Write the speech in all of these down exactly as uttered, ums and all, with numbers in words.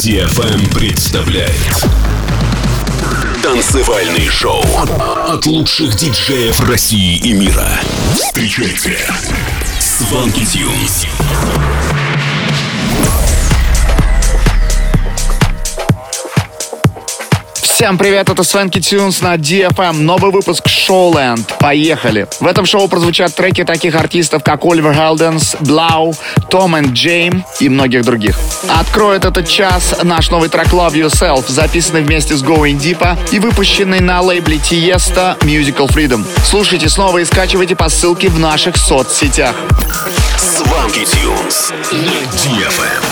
ди эф эм представляет танцевальный шоу от лучших диджеев России и мира. Встречайте Swanky Tunes. Всем привет, это Swanky Tunes на ди эф эм. Новый выпуск Showland. Поехали! В этом шоу прозвучат треки таких артистов, как Оливер Хелденс, Blau, Tom and Jame и многих других. Откроет этот час наш новый трек Love Yourself, записанный вместе с Going Deep и выпущенный на лейбле Tiesto Musical Freedom. Слушайте снова и скачивайте по ссылке в наших соцсетях. Swanky Tunes на ди эф эм.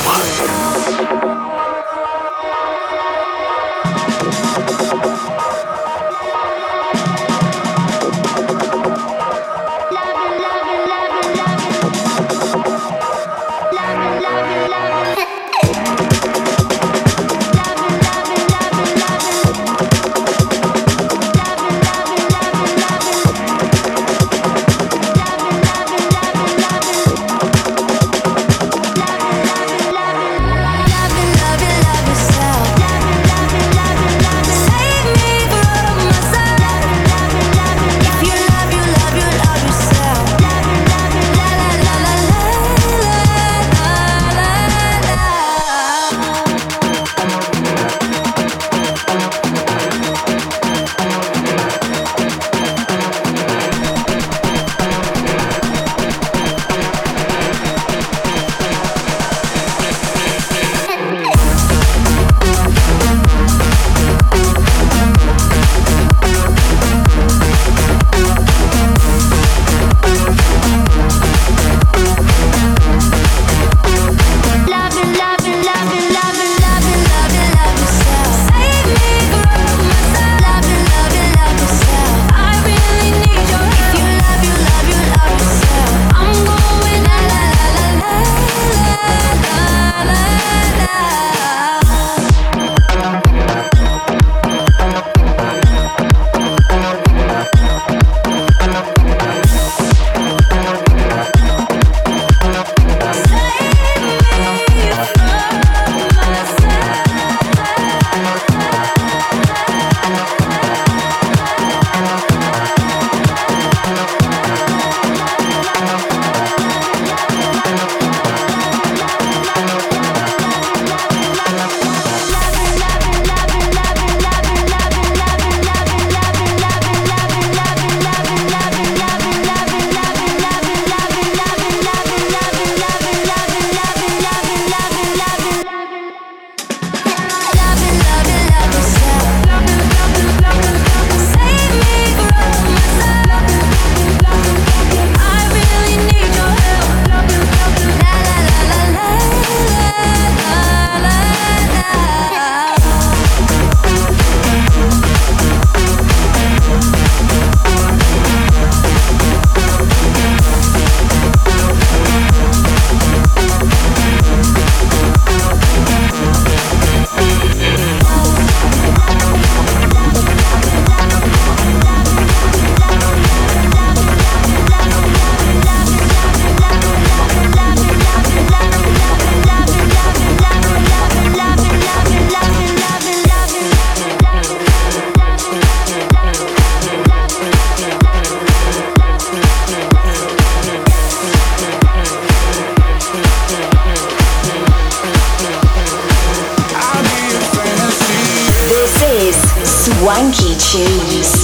Swanky Tunes.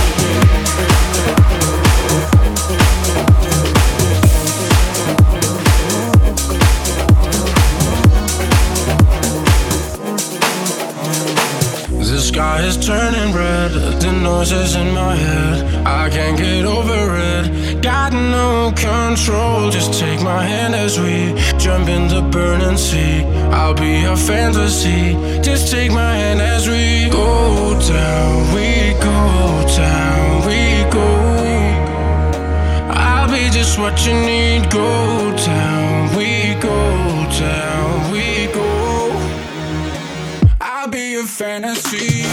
The sky is turning red, the noises in my head, I can't get over it. Got no control, just take my hand as we jump in the burning sea. I'll be a fantasy, just take my hand as we go down, we go down, we go. I'll be just what you need, go down, we go down, we go. I'll be your fantasy.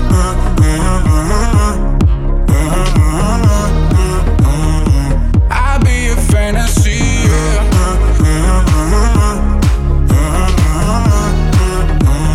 I'll be your fantasy.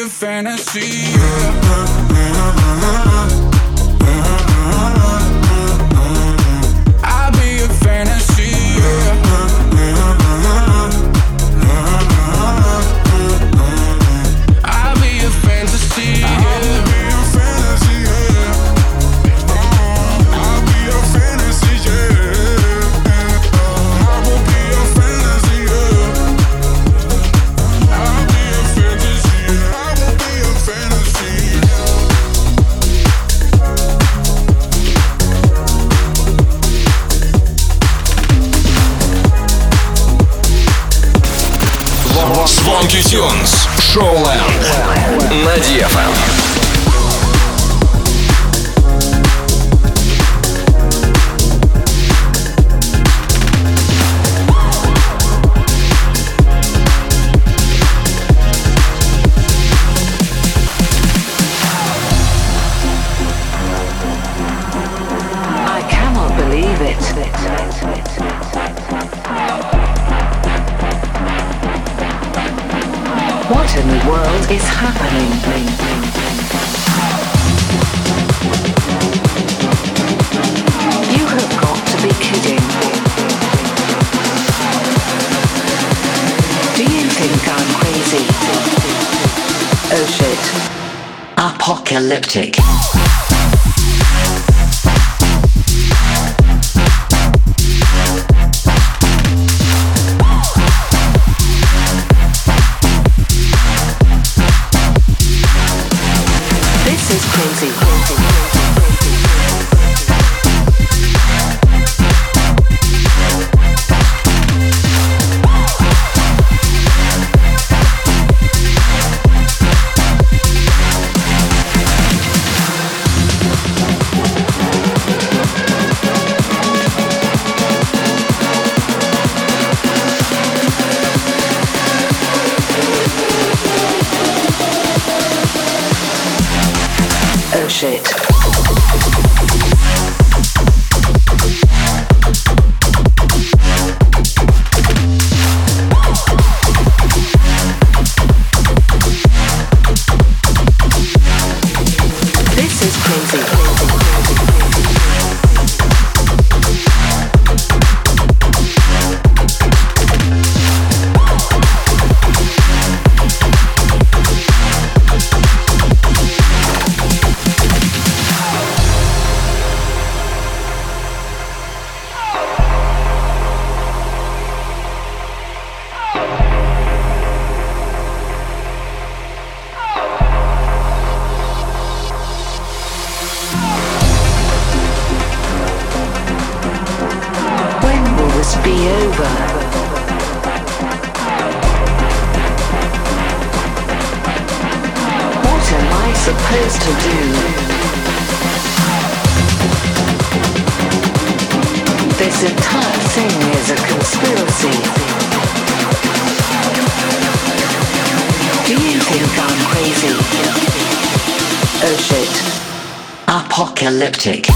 a fantasy, yeah. I'll be a fantasy, yeah. I'll be a fantasy, yeah. Swanky Tunes, Showland на ди эф эм. What in the world is happening? You have got to be kidding. Do you think I'm crazy? Oh shit. Apocalyptic. Shit. This is crazy. Be over. What am I supposed to do? This entire thing is a conspiracy. Do you think I'm crazy? Oh shit. Apocalyptic.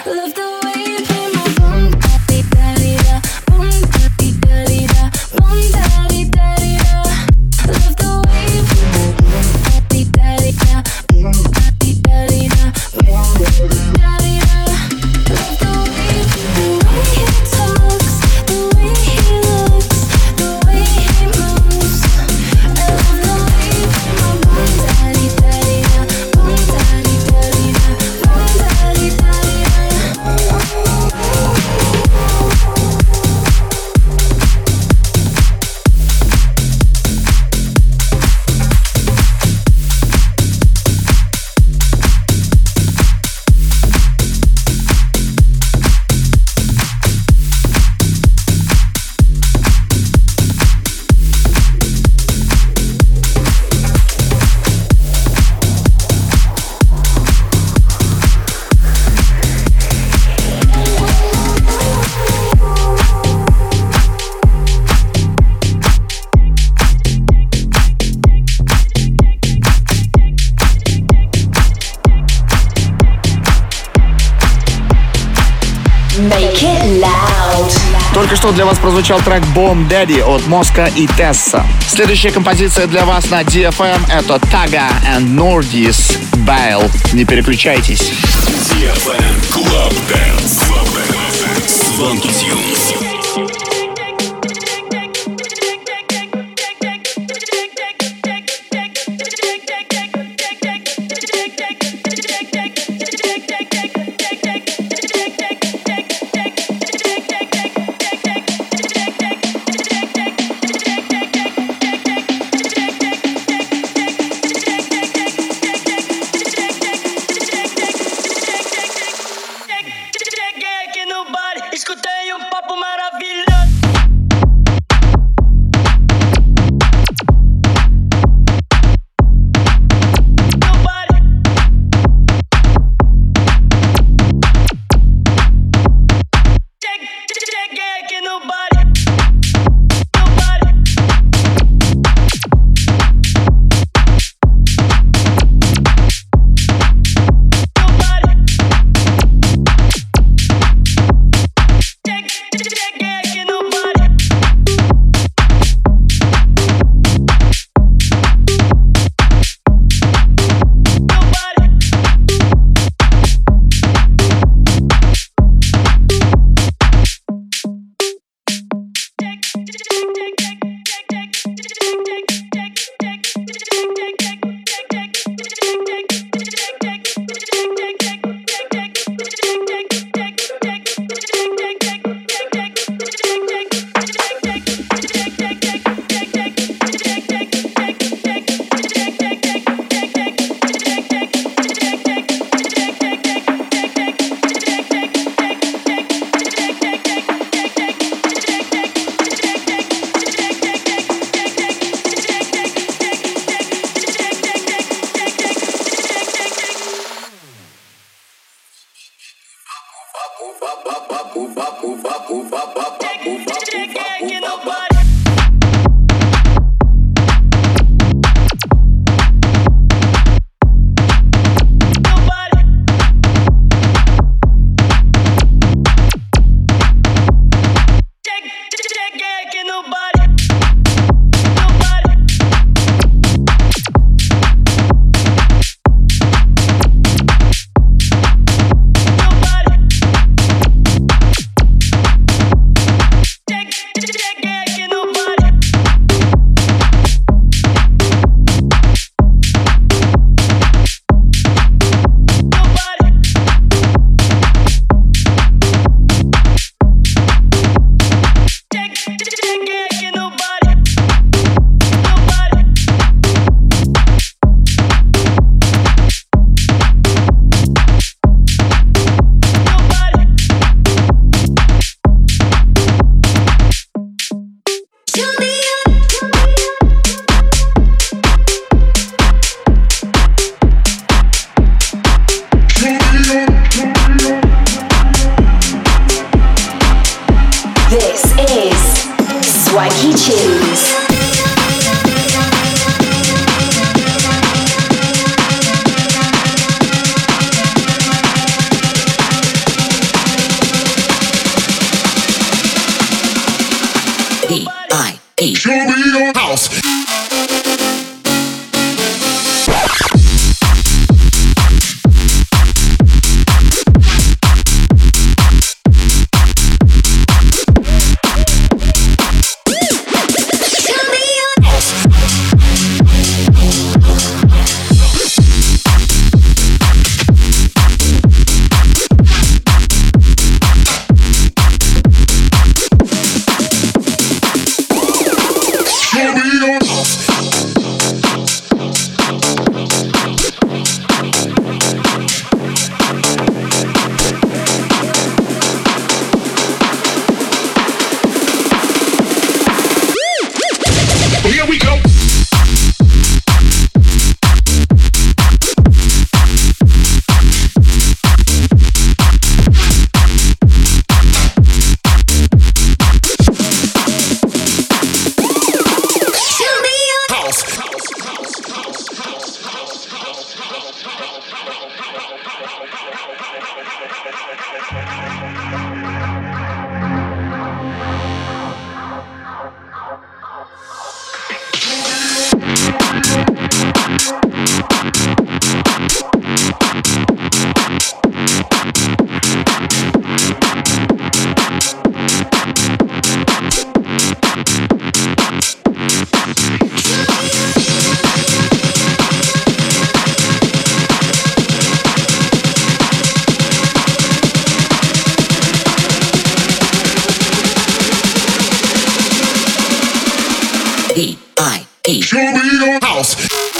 Только что для вас прозвучал трек Bomb Daddy от Моска и Тесса. Следующая композиция для вас на ди эф эм — это Taga and Nordis Bale. Не переключайтесь. ди эф эм Club Dance. Swanky Tunes. eight. Show me your house. P I E. Show me your house.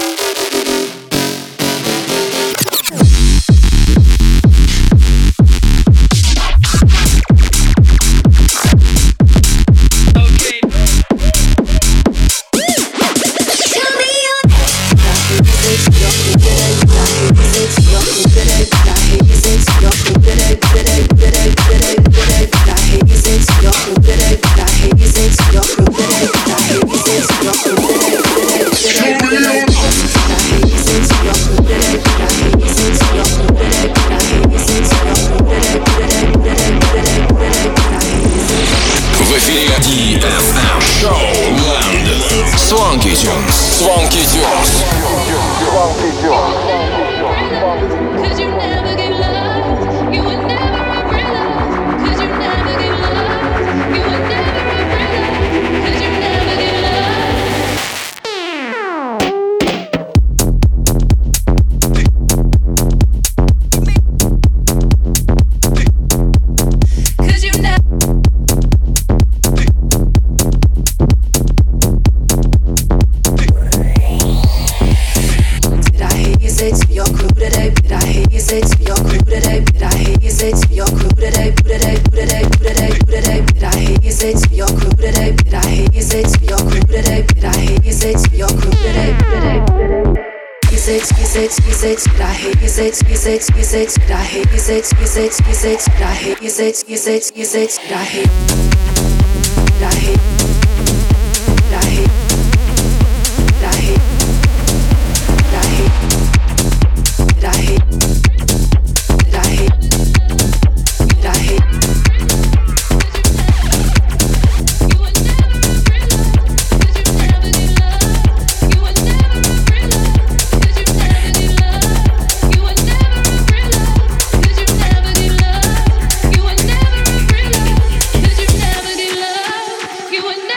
Swanky Tunes. Swanky Tunes. Swanky Tunes. Cause you never give love, you would never umbrella. Cause you never give love, you would never umbrella. Cause you never give love. Cause you never. You would never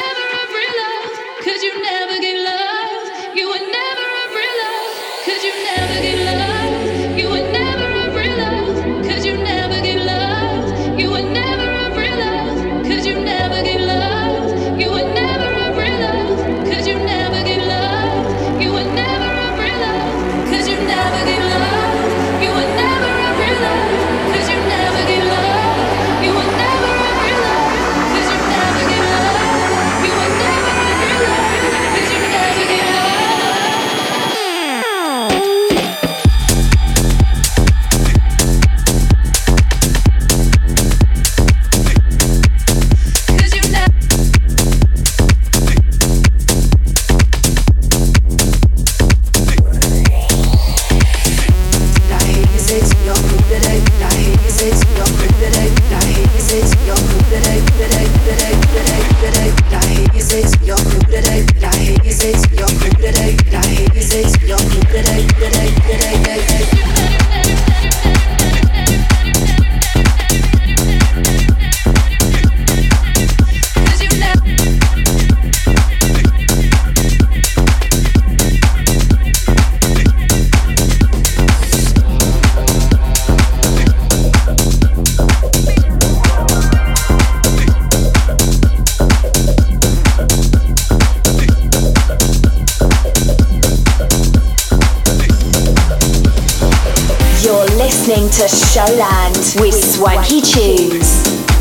listening to Showland with Swanky Tunes.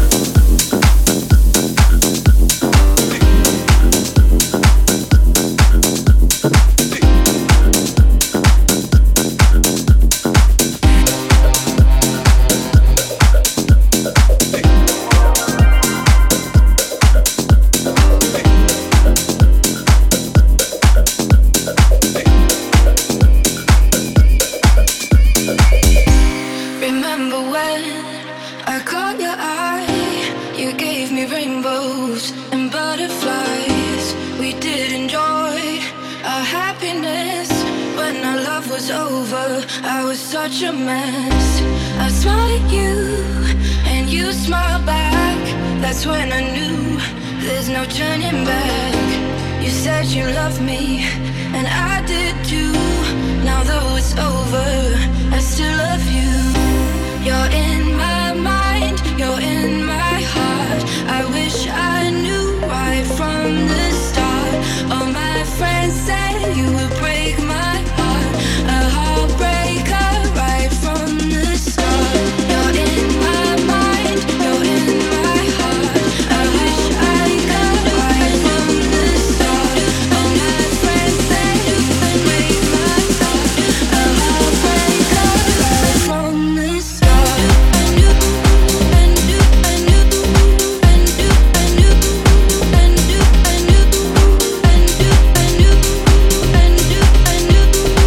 Such a mess. I smiled at you and you smiled back. That's when I knew there's no turning back. You said you loved me and I did too. Now though it's over, I still love you. You're in my mind, you're in my heart. I wish I knew right from the start. All my friends say you would break my heart. A heartbreaker right from the start. You're in my mind, you're in my heart. I wish I could right from the start. All my friends say you would break my heart. A heartbreaker right from the start. I knew, I knew, I knew, I knew, I knew, I knew, I knew, I knew, I knew, I knew, I knew, I knew.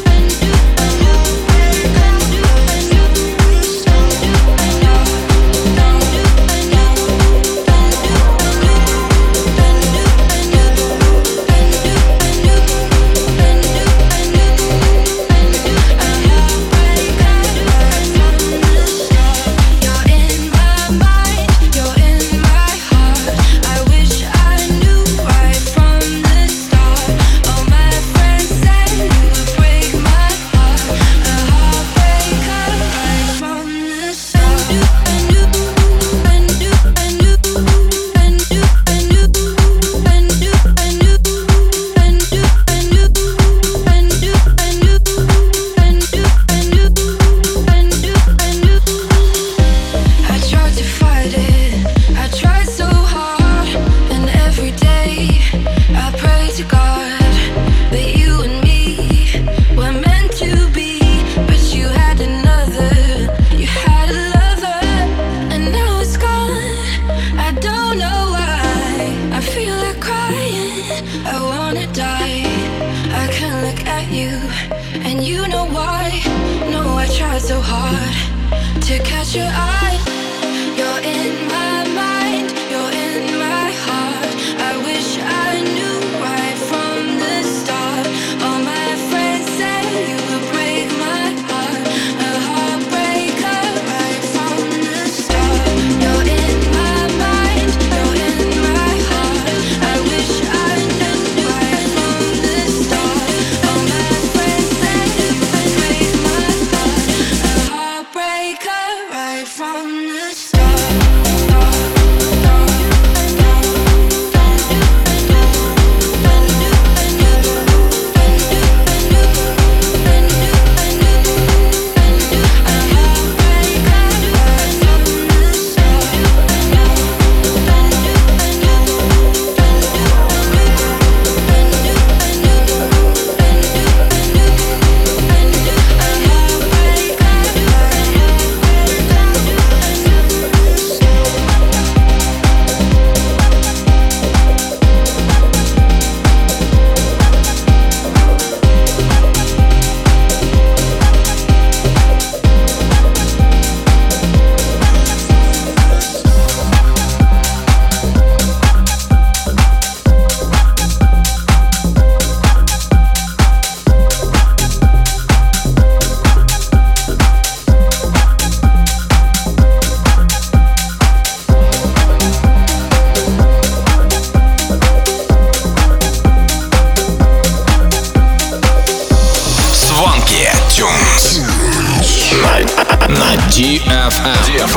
ди эф эм.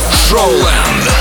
Showland.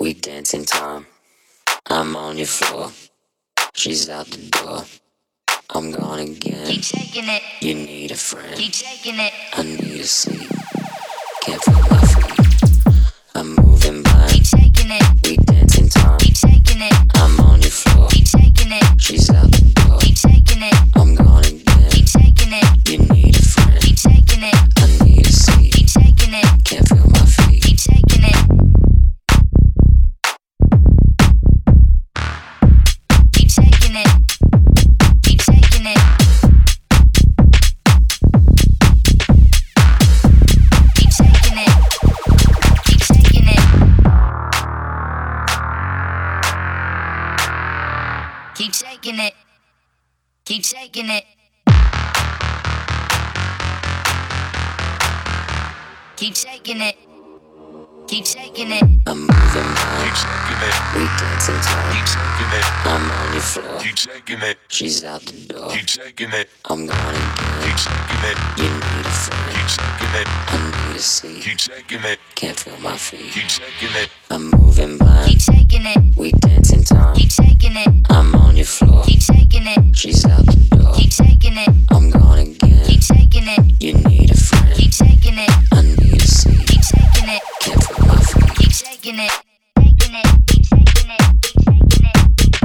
we dance in time. I'm on your floor, she's out the door. I'm gone again. Keep taking it. You need a friend. Keep taking it. I need a seat. Can't feel my feet. I'm moving blind. Keep taking it. We dance in time. Keep taking it. I'm on your floor. Keep taking it. She's out the door. Keep taking it. I'm gone again. Keep taking it. You need a friend. Keep taking it. I need a seat. Keep taking it. Can't feel my feet. Keep taking it. Keep taking it. Keep taking it. Keep taking it. Keep taking it. Keep taking it. Keep taking it. Keep taking it. Keep taking it. I'm moving blind. Keep shaking it. We dance in time. Keep shaking it. I'm on your floor. Keep shaking it. She's out the door. Keep shaking it. I'm gone again. Keep shaking it. You need a friend. Keep shaking it. I need a seat. Keep shaking it. Can't feel my feet. Keep shaking it. I'm moving blind. Keep taking it. We dance in time. Keep taking it. I'm on your floor. Keep taking it. She's out the door. Keep taking it. I'm gone again. Keep taking it. You need a friend. Keep taking it. I need a seat. Keep taking it. Can't feel my feet. Keep taking it. Taking it. Keep taking it. Keep taking it.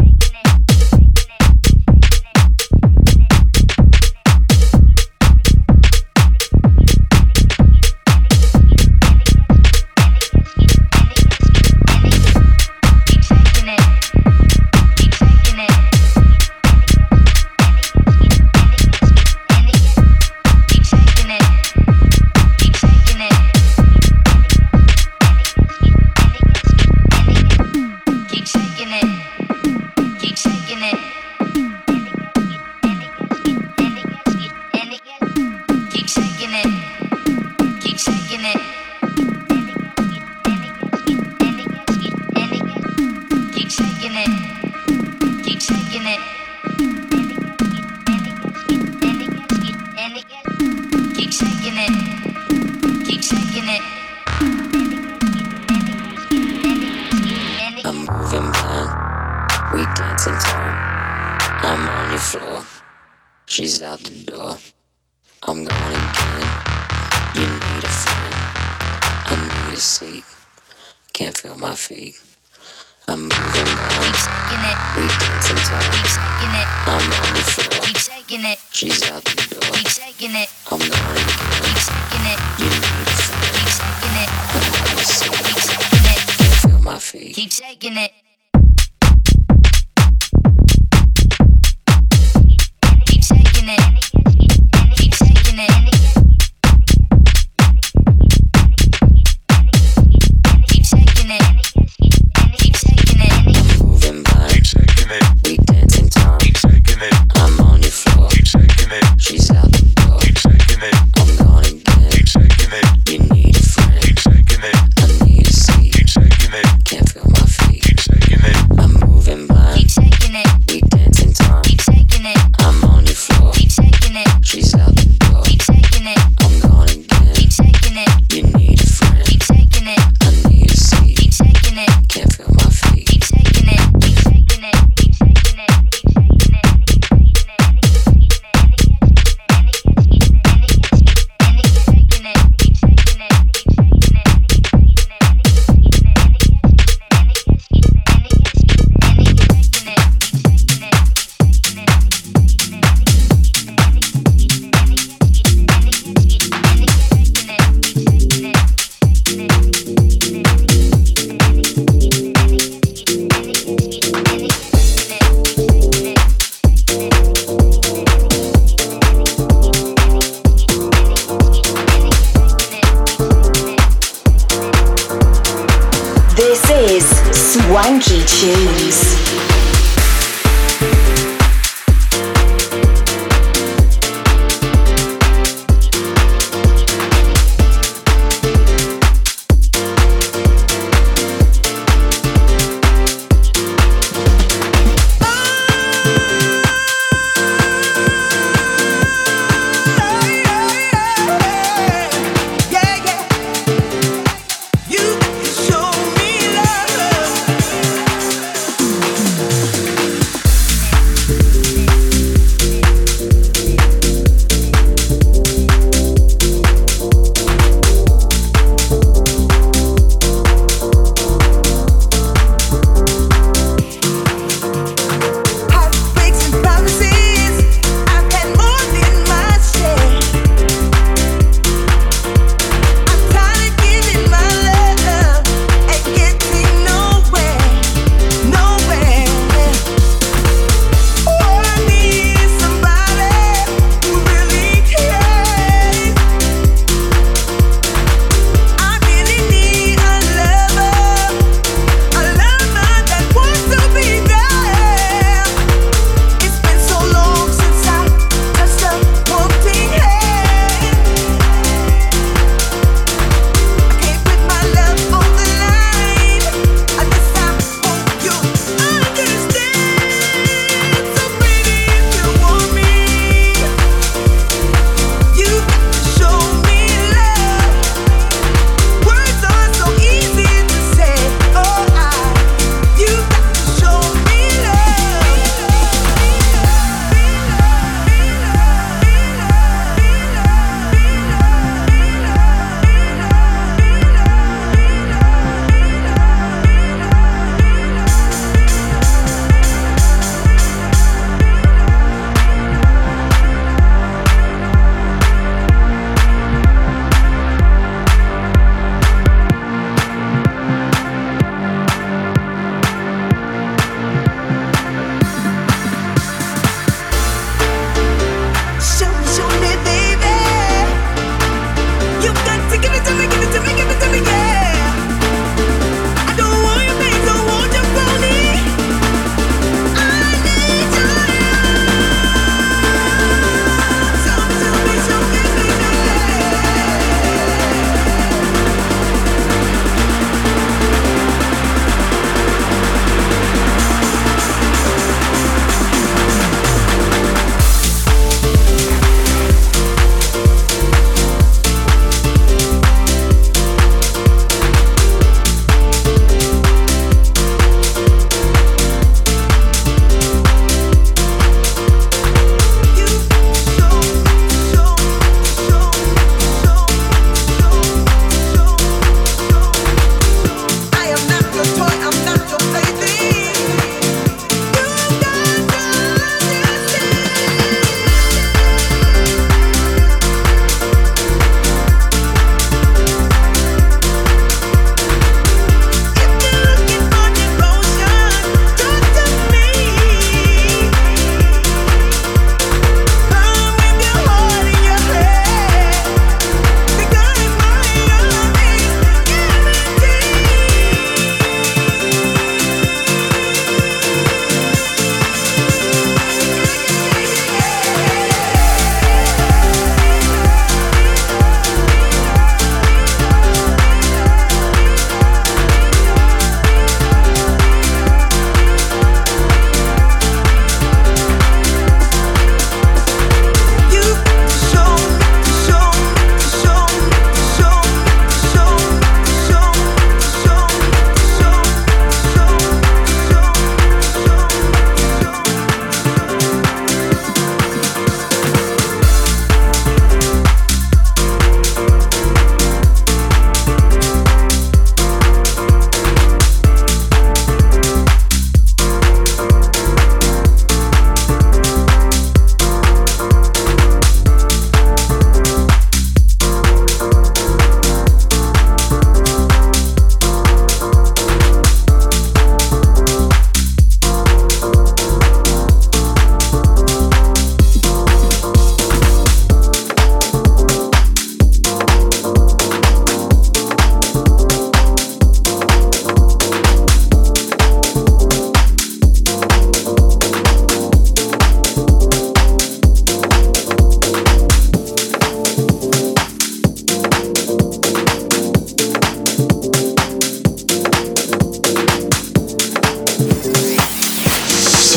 I'm moving blind. We dance in time. I'm on your floor. She's out the door. I'm gone again. You need a friend. I need a seat. Can't feel my feet. I'm moving blind. We dance in time. I'm on your floor. She's out the door. I'm gone again. You need a friend. I need a seat. Can't feel my feet. Keep taking it. Keep taking it. Keep taking it. Keep taking it. Keep taking it. I'm moving blind. Keep shaking it. We dance in time. Keep shaking it. I'm on your floor. Keep shaking it. She's out the door. Keep shaking it. I'm gone again. Keep shaking it. You need a friend. Keep shaking it. I need a seat. Keep shaking it. Can't feel my feet. Keep shaking it. I'm moving blind. Keep taking it. We dance in time. Keep taking it. I'm on your floor. Keep taking it. She's out the door. Keep taking it. I'm gone again. Keep taking it. You need a friend. Keep taking it. I need a seat. Keep taking it. Can't feel my feet. Keep taking it. Keep taking it. Keep taking it. Keep taking it. This is Swanky Tunes. Yeah, yeah. You show me love.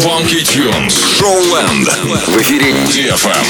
Swanky Tunes. Showland. В эфире ди эф эм.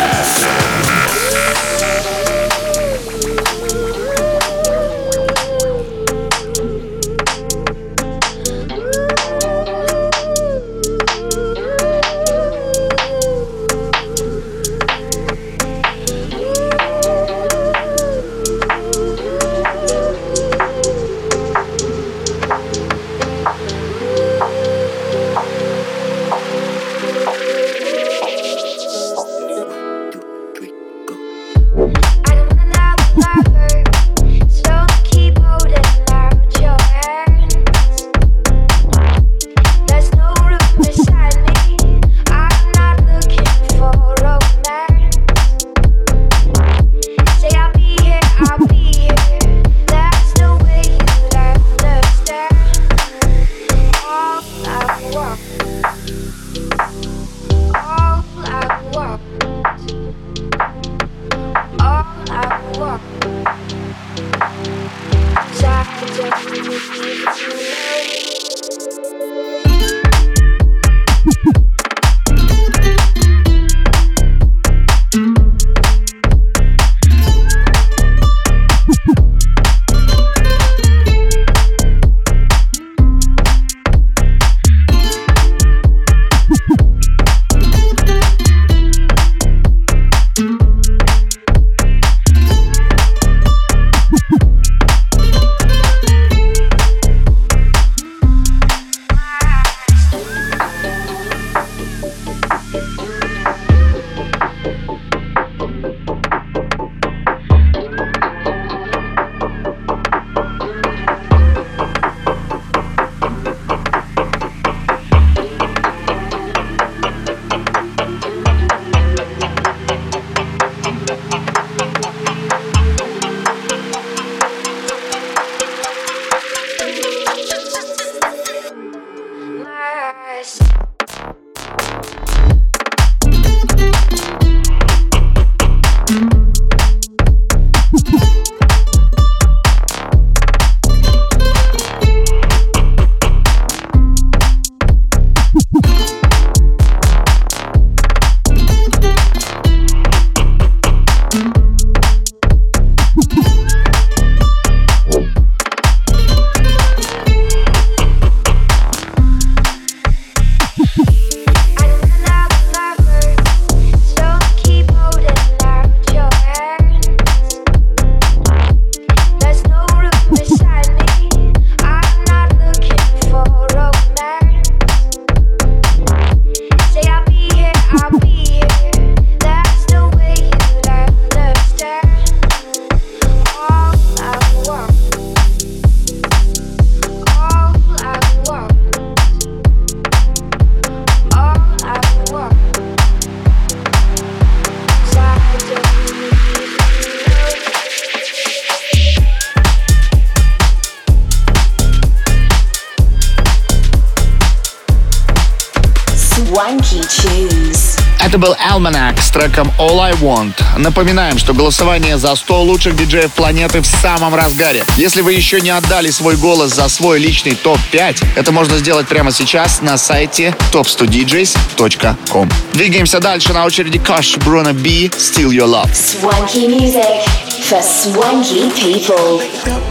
Это был Almanac с треком All I Want. Напоминаем, что голосование за сто лучших диджеев планеты в самом разгаре. Если вы еще не отдали свой голос за свой личный топ пять, это можно сделать прямо сейчас на сайте топ сто диджейс точка ком. Двигаемся дальше. На очереди Kush, Bruno B, Steal Your Love. Swanky music for swanky people.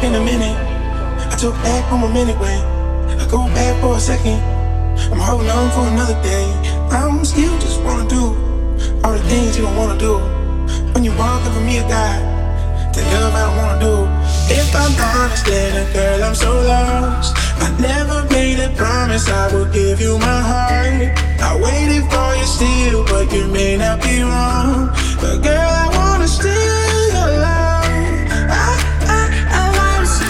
I'm holding on for another day. I'm still just wanna do all the things you don't wanna do. When you walk up for me a guy, the love I don't wanna do. If I'm honest, then girl, I'm so lost. I never made a promise I would give you my heart. I waited for you still, but you may not be wrong. But girl, I wanna steal your love. I, I, I wanna steal.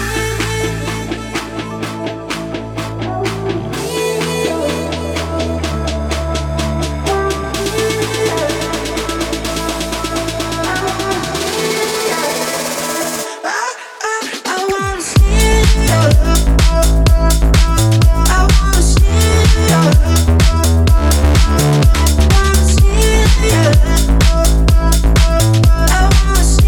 I wanna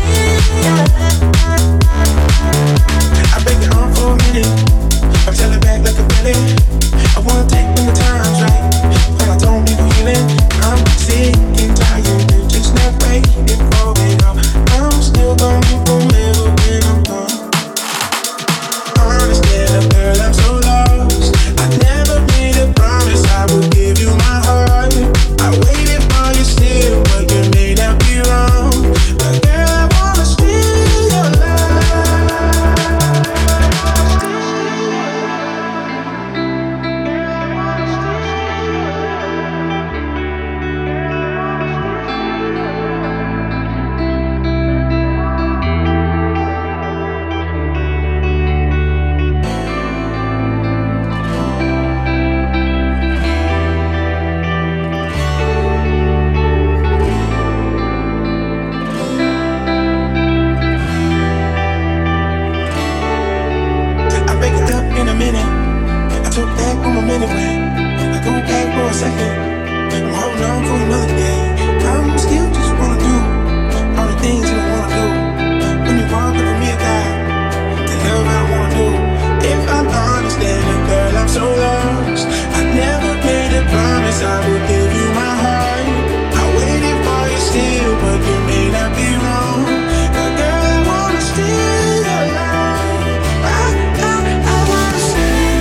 one second. I'm holding on for another day. I'm still just wanna do all the things you don't wanna do. When you walk up for me a guy, the love I don't wanna do. If I'm honest, then girl, I'm so lost. I never made a promise I would give you my heart. I waited for you still, but you may not be wrong. But girl, I wanna stay alive. I, I, I wanna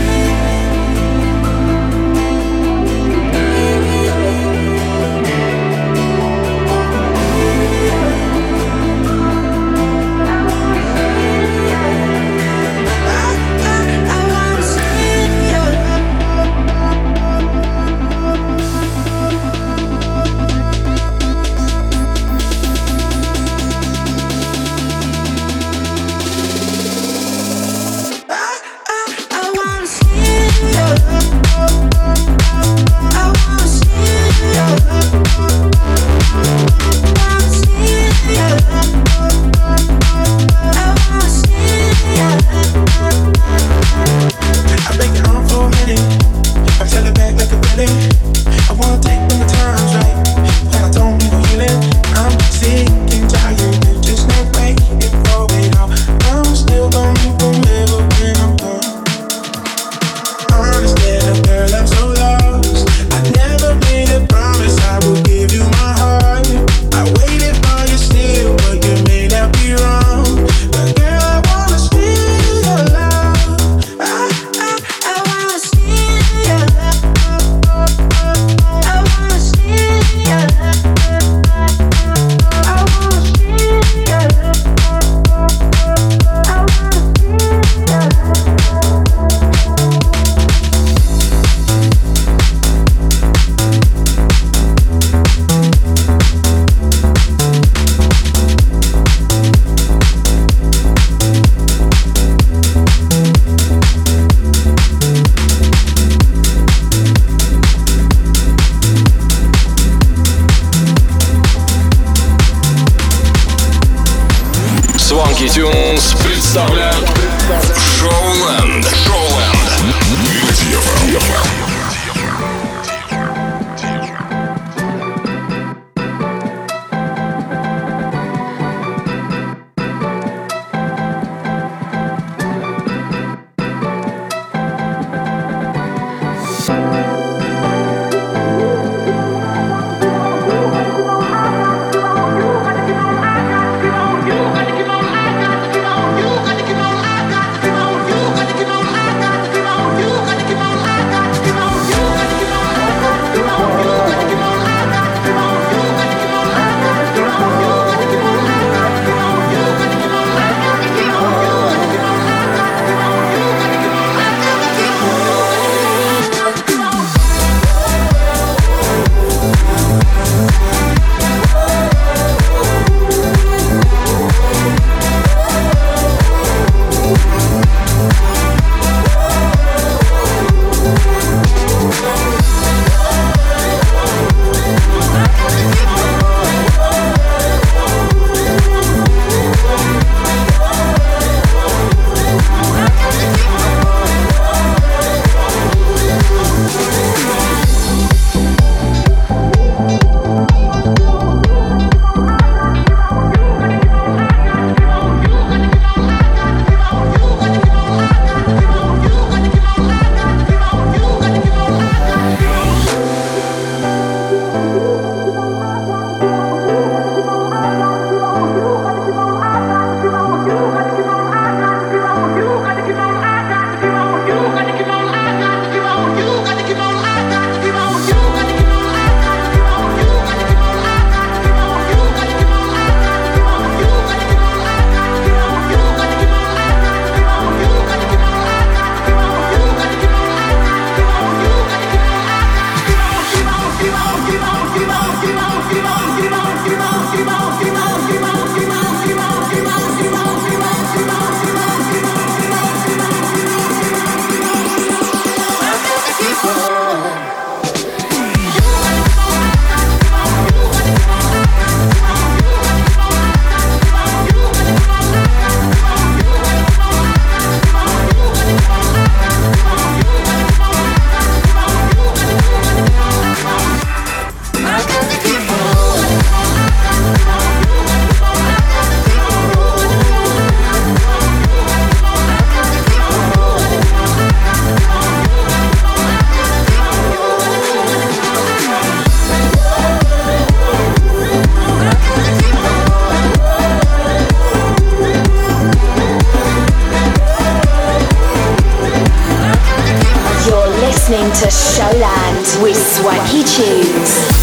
stay. listening to Showland with Swanky Tunes.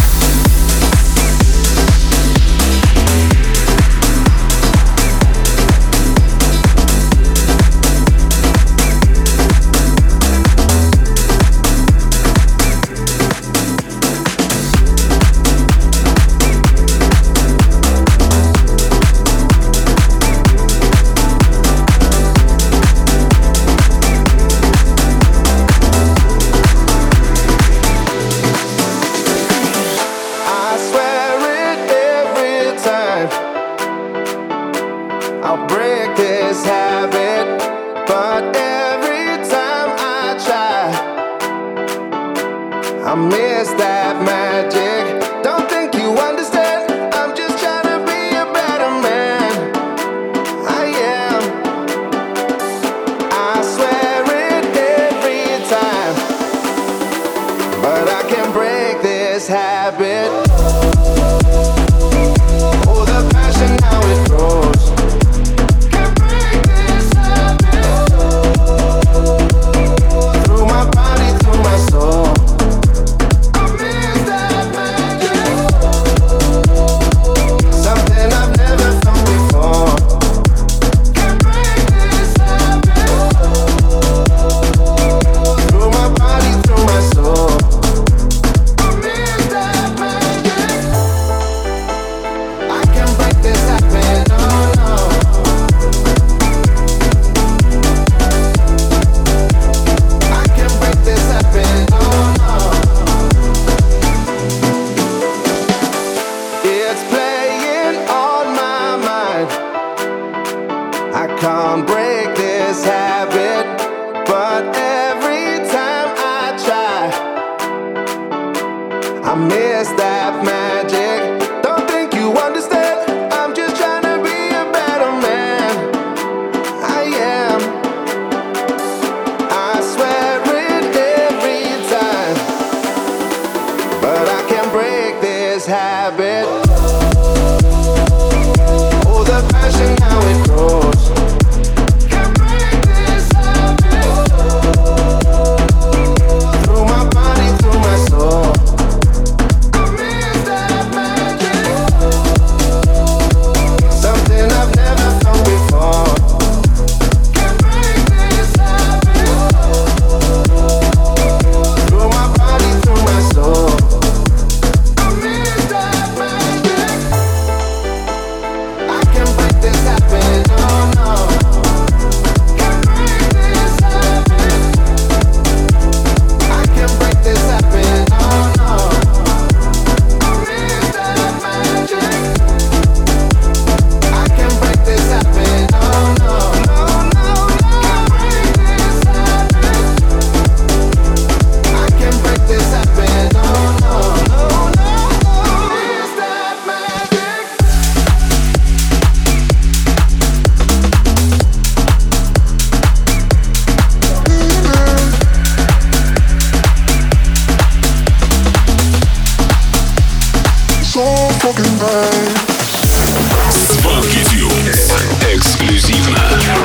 Swanky Tunes. Эксклюзивно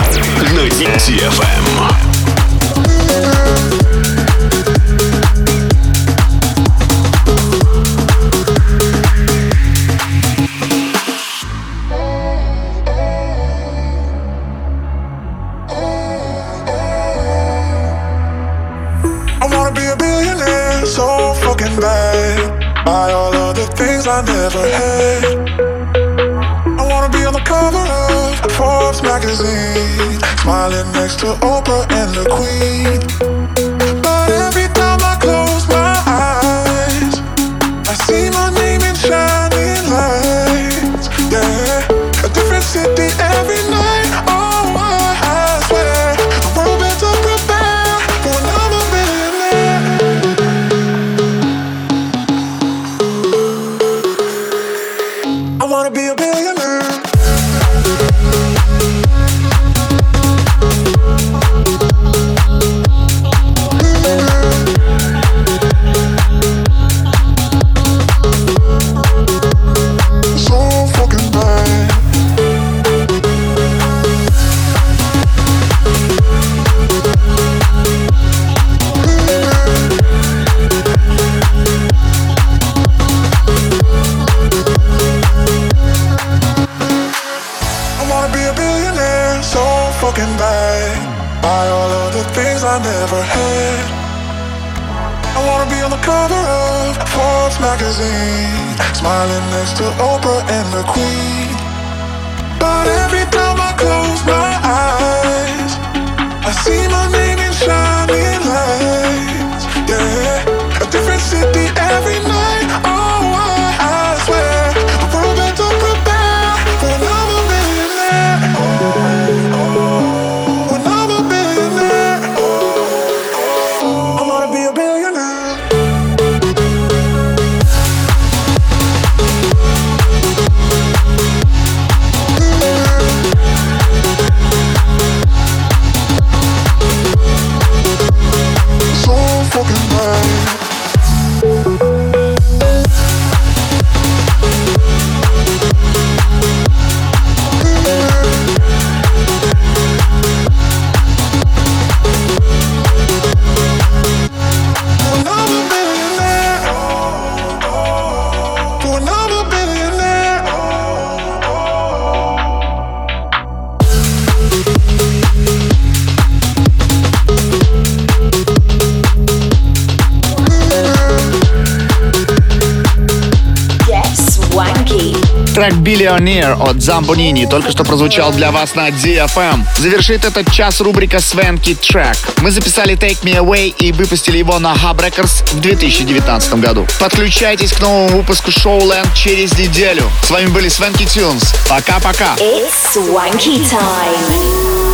на ди эф эм. Buy all of the things I never had. I wanna be on the cover of Forbes magazine, smiling next to Oprah and the Queen. But every time I close my eyes, I see my name in shining lights. Yeah, a different city every night. Oh, I swear the world better prepare for another millionaire. I wanna be a billionaire. buy all of the things I never had. I wanna be on the cover of Forbes magazine, smiling next to Oprah and the Queen. But every time I close my eyes, I see my name in shining lights. Yeah, a different city every night. Oh, I, I swear, the world better prepare for another millionaire. For another billionaire. I wanna be a billionaire. So fucking bad. Трек «Billionaire» от Zambonini только что прозвучал для вас на ди эф эм. Завершит этот час рубрика «Swanky Track». Мы записали «Take Me Away» и выпустили его на Hub Records в две тысячи девятнадцатом году. Подключайтесь к новому выпуску Showland через неделю. С вами были Swanky Tunes. Пока-пока. It's Swanky time.